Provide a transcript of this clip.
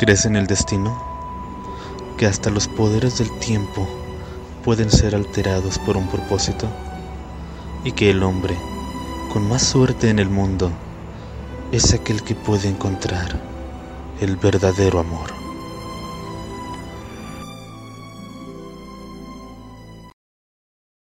¿Crees en el destino? ¿Que hasta los poderes del tiempo pueden ser alterados por un propósito? ¿Y que el hombre con más suerte en el mundo es aquel que puede encontrar el verdadero amor?